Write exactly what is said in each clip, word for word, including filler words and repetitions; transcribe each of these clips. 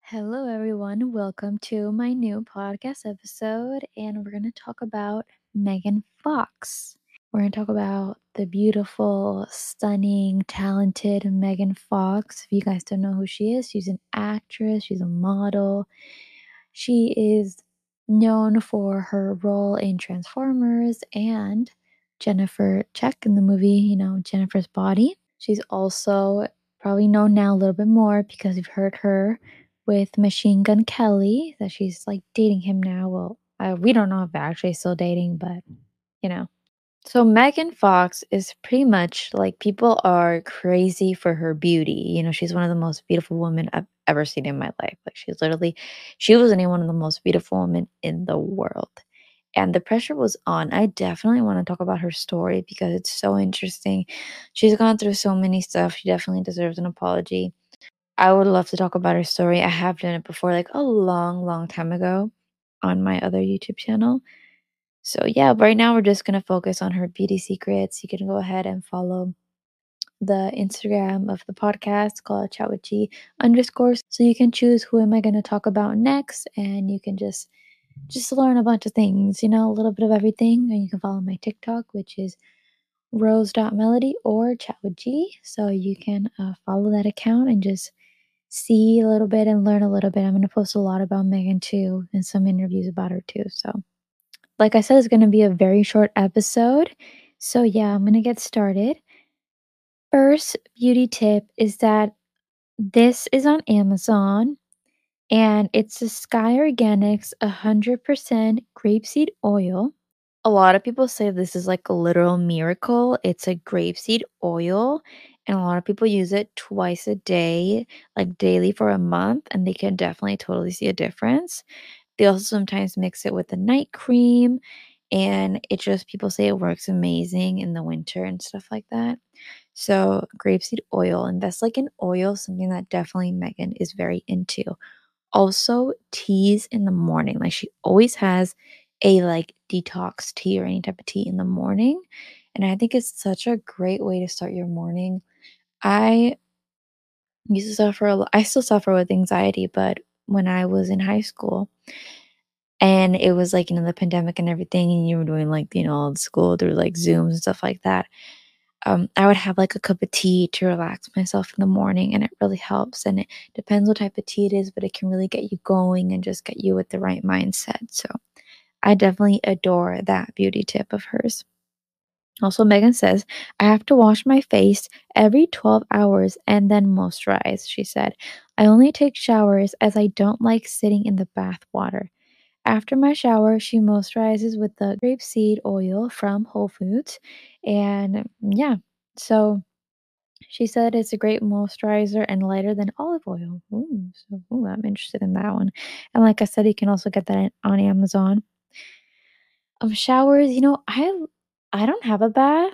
Hello, everyone. Welcome to my new podcast episode, and we're going to talk about Megan Fox. We're going to talk about the beautiful, stunning, talented Megan Fox. If you guys don't know who she is, she's an actress, she's a model. She is known for her role in Transformers and Jennifer Check in the movie, you know, Jennifer's Body. She's also probably known now a little bit more because you've heard her with Machine Gun Kelly, that she's like dating him now. Well, uh, we don't know if they're actually still dating, but you know. So Megan Fox is pretty much like people are crazy for her beauty. You know, she's one of the most beautiful women I've ever seen in my life. Like she's literally, she was any one of the most beautiful women in the world. And the pressure was on. I definitely want to talk about her story because it's so interesting. She's gone through so many stuff. She definitely deserves an apology. I would love to talk about her story. I have done it before, like a long, long time ago on my other YouTube channel. So yeah, right now we're just gonna focus on her beauty secrets. You can go ahead and follow the Instagram of the podcast called Chat with G underscores. So you can choose who am I gonna talk about next, and you can just just learn a bunch of things, you know, a little bit of everything. And you can follow my TikTok, which is rose.melody or Chat with G. So you can uh, follow that account and just see a little bit and learn a little bit. I'm gonna post a lot about Megan too and some interviews about her too. So like I said, it's going to be a very short episode. So, yeah, I'm going to get started. First beauty tip is that this is on Amazon and it's a Sky Organics one hundred percent grapeseed oil. A lot of people say this is like a literal miracle. It's a grapeseed oil, and a lot of people use it twice a day, like daily for a month, and they can definitely totally see a difference. They also sometimes mix it with a night cream, and it just people say it works amazing in the winter and stuff like that. So, grapeseed oil, invest like in oil, something that definitely Megan is very into. Also, teas in the morning. Like she always has a like detox tea or any type of tea in the morning. And I think it's such a great way to start your morning. I used to suffer a lot. I still suffer with anxiety, but when I was in high school, and it was like, you know, the pandemic and everything, and you were doing like, you know, all the school through like Zooms and stuff like that. Um, I would have like a cup of tea to relax myself in the morning, and it really helps. And it depends what type of tea it is, but it can really get you going and just get you with the right mindset. So I definitely adore that beauty tip of hers. Also, Megan says, I have to wash my face every twelve hours and then moisturize. She said, I only take showers as I don't like sitting in the bath water. After my shower, she moisturizes with the grapeseed oil from Whole Foods. And yeah, so she said it's a great moisturizer and lighter than olive oil. Ooh, so ooh, I'm interested in that one. And like I said, you can also get that on Amazon. Um, showers, you know, I I don't have a bath,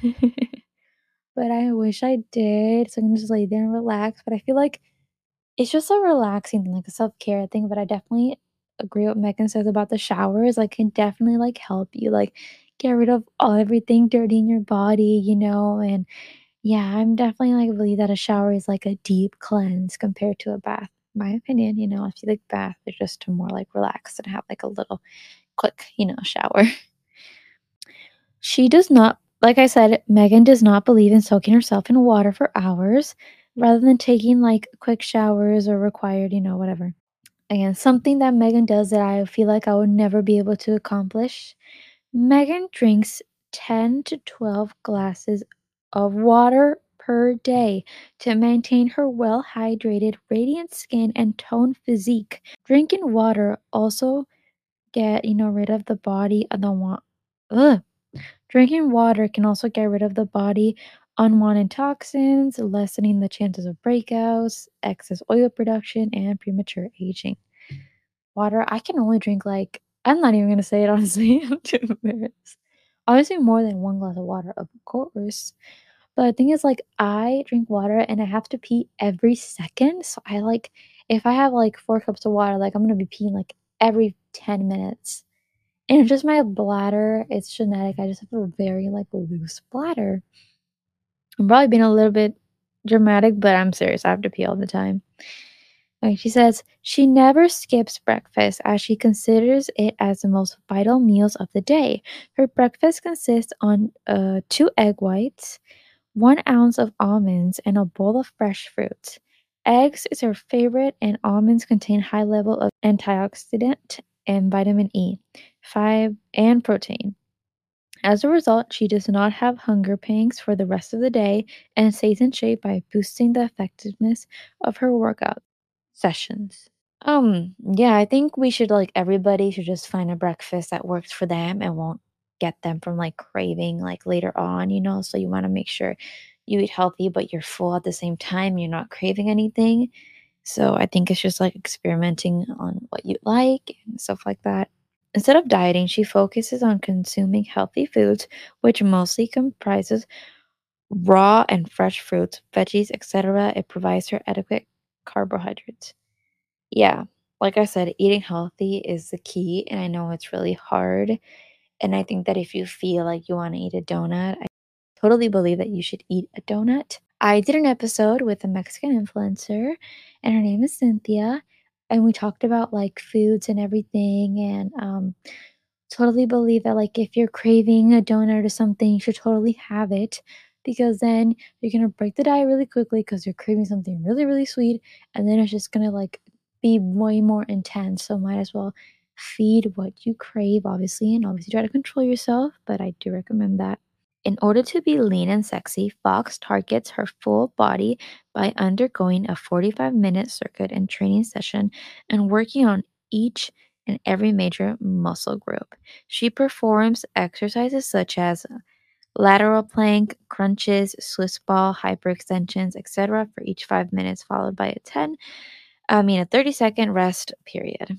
but I wish I did. So I can just lay there and relax. But I feel like it's just a relaxing thing, like a self-care thing, but I definitely agree what Megan says about the showers, like, can definitely, like, help you, like, get rid of all everything dirty in your body, you know, and yeah, I'm definitely, like, believe that a shower is, like, a deep cleanse compared to a bath. My opinion, you know, I feel like bath is just to more, like, relax and have, like, a little quick, you know, shower. She does not like I said, Megan does not believe in soaking herself in water for hours rather than taking, like, quick showers or required, you know, whatever. Again, something that Megan does that I feel like I would never be able to accomplish. Megan drinks ten to twelve glasses of water per day to maintain her well hydrated, radiant skin and toned physique. Drinking water also get, you know, rid of the body of the want. Ugh. Drinking water can also get rid of the body unwanted toxins, lessening the chances of breakouts, excess oil production, and premature aging. Water, I can only drink, like I'm not even gonna say it, honestly, I'm too embarrassed. Obviously, more than one glass of water, of course, but the thing is, like, I drink water and I have to pee every second, so I, like if I have, like, four cups of water, like, I'm gonna be peeing, like, every ten minutes, and it's just my bladder, it's genetic, I just have a very, like, loose bladder. I'm probably being a little bit dramatic, but I'm serious, I have to pee all the time. Okay, she says she never skips breakfast as she considers it as the most vital meals of the day. Her breakfast consists on uh, two egg whites, one ounce of almonds, and a bowl of fresh fruits. Eggs is her favorite, and almonds contain high level of antioxidant and vitamin E, five, and protein. As a result, she does not have hunger pangs for the rest of the day and stays in shape by boosting the effectiveness of her workout sessions. Um, yeah, I think we should like everybody should just find a breakfast that works for them and won't get them from like craving like later on, you know? So you want to make sure you eat healthy, but you're full at the same time, you're not craving anything. So I think it's just like experimenting on what you like and stuff like that. Instead of dieting, she focuses on consuming healthy foods, which mostly comprises raw and fresh fruits, veggies, et cetera. It provides her adequate carbohydrates. Yeah, like I said, eating healthy is the key, and I know it's really hard. And I think that if you feel like you want to eat a donut, I totally believe that you should eat a donut. I did an episode with a Mexican influencer, and her name is Cynthia, and we talked about like foods and everything. And um, totally believe that, like, if you're craving a donut or something, you should totally have it because then you're gonna break the diet really quickly because you're craving something really, really sweet, and then it's just gonna, like, be way more intense, so might as well feed what you crave, obviously, and obviously try to control yourself, but I do recommend that. In order to be lean and sexy, Fox targets her full body by undergoing a forty-five minute circuit and training session and working on each and every major muscle group. She performs exercises such as lateral plank, crunches, Swiss ball, hyperextensions, et cetera for each five minutes, followed by a ten, I mean a thirty second rest period.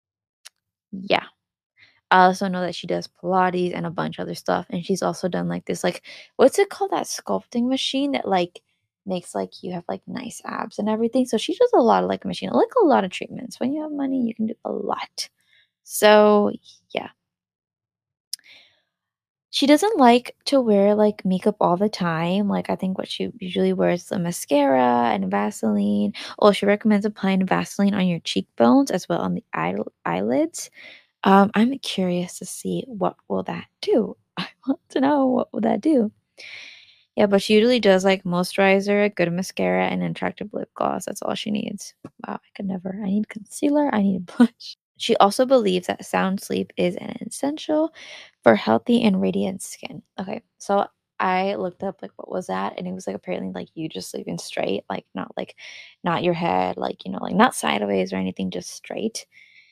Yeah. I also know that she does Pilates and a bunch of other stuff, and she's also done, like, this, like what's it called? That sculpting machine that, like, makes, like, you have, like, nice abs and everything, so she does a lot of, like, machine like, a lot of treatments. When you have money, you can do a lot. So, yeah. She doesn't like to wear, like, makeup all the time, like, I think what she usually wears is a mascara and Vaseline. Oh, she recommends applying Vaseline on your cheekbones as well on the eye eyelids. Um, I'm curious to see what will that do. I want to know what will that do. Yeah, but she usually does like moisturizer, a good mascara, and an attractive lip gloss. That's all she needs. Wow, I could never. I need concealer. I need blush. She also believes that sound sleep is an essential for healthy and radiant skin. Okay, so I looked up like what was that, and it was like apparently like you just sleeping straight, like not like not your head, like you know, like not sideways or anything, just straight.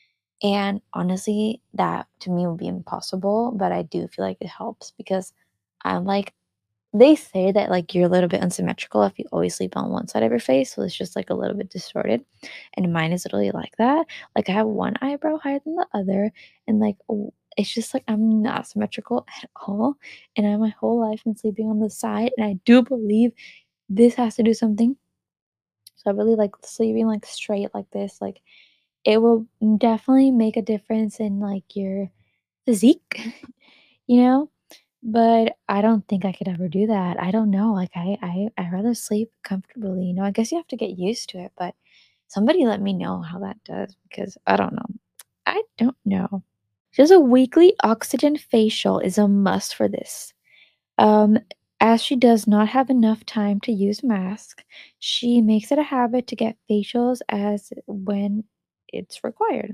And honestly, that to me would be impossible, but I do feel like it helps because I'm like they say that like you're a little bit unsymmetrical if you always sleep on one side of your face, so it's just like a little bit distorted. And mine is literally like that. Like I have one eyebrow higher than the other, and like w- it's just like I'm not symmetrical at all. And I my whole life been sleeping on the side, and I do believe this has to do something. So I really like sleeping like straight like this, like it will definitely make a difference in, like, your physique, you know? But I don't think I could ever do that. I don't know, like, I I i rather sleep comfortably, you know? I guess you have to get used to it, but somebody let me know how that does because I don't know. I don't know. Just a weekly oxygen facial is a must for this. Um, as she does not have enough time to use mask, she makes it a habit to get facials as when it's required.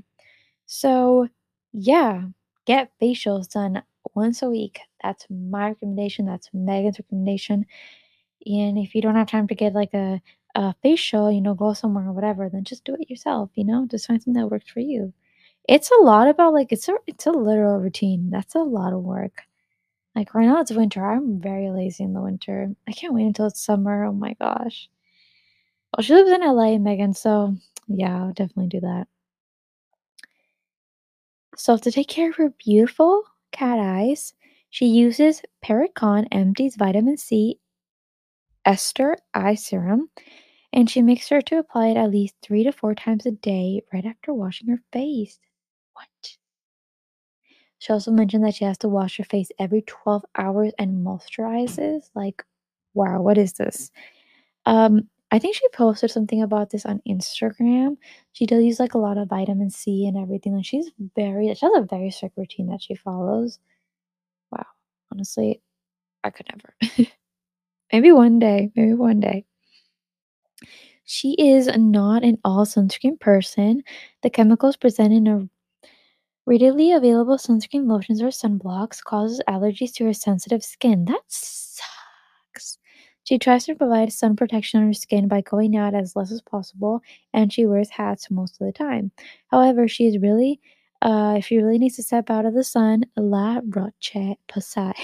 So, yeah, get facials done once a week. That's my recommendation. That's Megan's recommendation. And if you don't have time to get like a, a facial, you know, go somewhere or whatever, then just do it yourself, you know, just find something that works for you. It's a lot about like it's a it's a literal routine. That's a lot of work. Like right now it's winter. I'm very lazy in the winter. I can't wait until it's summer. Oh my gosh. Well, she lives in L A, Megan, so yeah, I'll definitely do that. So to take care of her beautiful cat eyes, she uses Pericon Empty's vitamin C ester eye serum, and she makes sure to apply it at least three to four times a day right after washing her face. What? She also mentioned that she has to wash her face every twelve hours and moisturizes. Like, wow, what is this? Um, I think she posted something about this on Instagram. She does use, like, a lot of vitamin C and everything, and she's very she has a very strict routine that she follows. Wow, honestly, I could never. Maybe one day, maybe one day. She is not an all sunscreen person. The chemicals present in a readily available sunscreen lotions or sunblocks causes allergies to her sensitive skin. That sucks. She tries to provide sun protection on her skin by going out as less as possible, and she wears hats most of the time. However, she is really, uh, if she really needs to step out of the sun, La Roche Posay.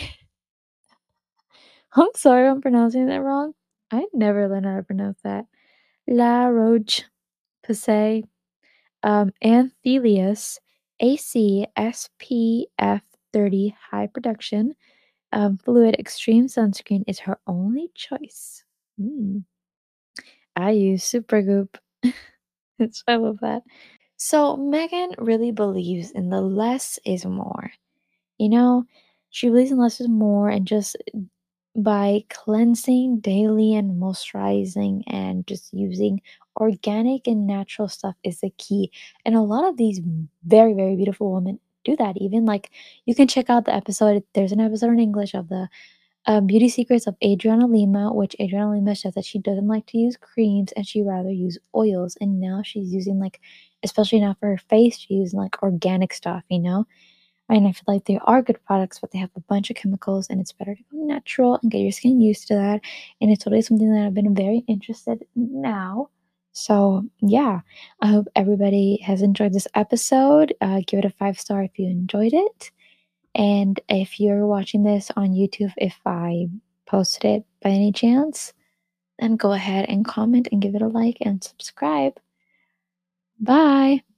I'm sorry if I'm pronouncing that wrong. I never learned how to pronounce that. La Roche Posay, um, Anthelius A C S P F thirty high production um, fluid extreme sunscreen is her only choice. Mm. I use Supergoop. It's I love that. So Megan really believes in the less is more. You know, she believes in less is more, and just by cleansing daily and moisturizing and just using organic and natural stuff is the key. And a lot of these very, very beautiful women do that. Even like you can check out the episode. There's an episode in English of the uh, beauty secrets of Adriana Lima, which Adriana Lima says that she doesn't like to use creams and she rather use oils. And now she's using like, especially now for her face, she's using like organic stuff, you know? And I feel like they are good products, but they have a bunch of chemicals, and it's better to go natural and get your skin used to that. And it's totally something that I've been very interested in now. So, yeah, I hope everybody has enjoyed this episode. Uh, give it a five star if you enjoyed it. And if you're watching this on YouTube, if I posted it by any chance, then go ahead and comment and give it a like and subscribe. Bye.